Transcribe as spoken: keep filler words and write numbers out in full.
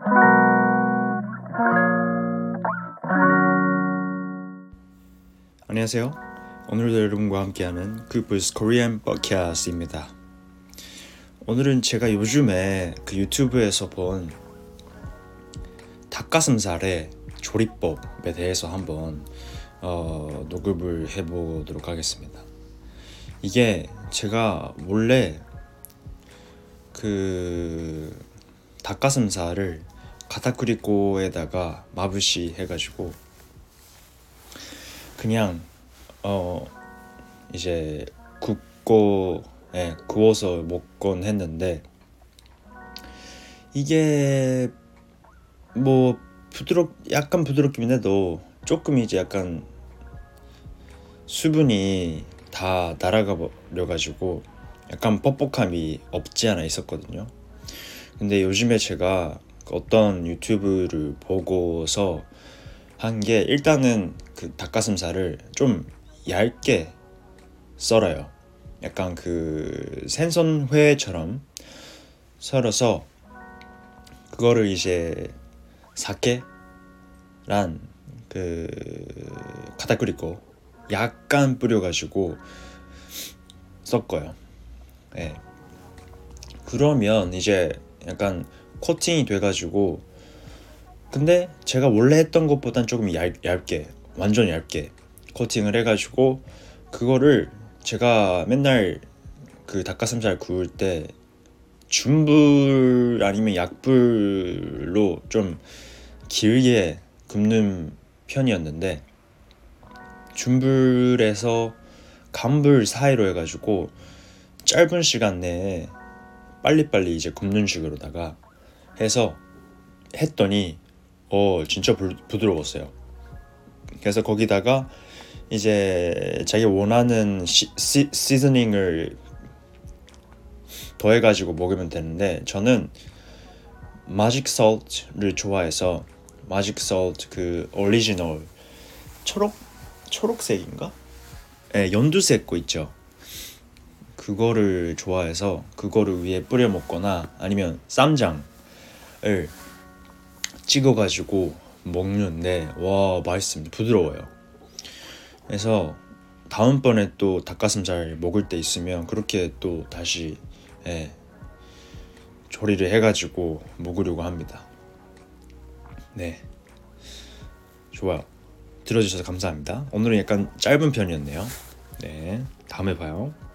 안녕하세요. 오늘도 여러분과 함께하는 쿠브스 코리안 팟캐스트입니다. 오늘은 제가 요즘에 그 유튜브에서 본 닭가슴살의 조리법에 대해서 한번 어, 녹음을 해보도록 하겠습니다. 이게 제가 원래 그 닭가슴살을 가타크리코에다가 마부시 해가지고 그냥 어 이제 굽고 예, 구워서 먹곤 했는데 이게 뭐 부드럽 약간 부드럽긴 해도 조금 이제 약간 수분이 다 날아가 버려 가지고 약간 뻑뻑함이 없지 않아 있었거든요. 근데 요즘에 제가 어떤 유튜브를 보고서 한 게 일단은 그 닭가슴살을 좀 얇게 썰어요. 약간 그 생선회처럼 썰어서 그거를 이제 사케란 그 가타크리코 약간 뿌려가지고 섞어요. 예. 그러면 이제 약간 코팅이 돼가지고 근데 제가 원래 했던 것보단 조금 얇, 얇게 완전 얇게 코팅을 해가지고 그거를 제가 맨날 그 닭가슴살 구울 때 중불 아니면 약불로 좀 길게 굽는 편이었는데 중불에서 강불 사이로 해가지고 짧은 시간 내에 빨리빨리 이제 굽는 식으로다가 해서 했더니 어 진짜 부, 부드러웠어요. 그래서 거기다가 이제 자기 원하는 시, 시, 시즈닝을 더해가지고 먹으면 되는데 저는 마직 솔트를 좋아해서 마직 솔트 그 오리지널 초록 초록색인가? 네, 연두색 거 있죠. 그거를 좋아해서 그거를 위에 뿌려 먹거나 아니면 쌈장을 찍어가지고 먹는데 와 맛있습니다. 부드러워요. 그래서 다음번에 또 닭가슴살 먹을 때 있으면 그렇게 또 다시 예, 조리를 해가지고 먹으려고 합니다. 네, 좋아요. 들어주셔서 감사합니다. 오늘은 약간 짧은 편이었네요. 네, 다음에 봐요.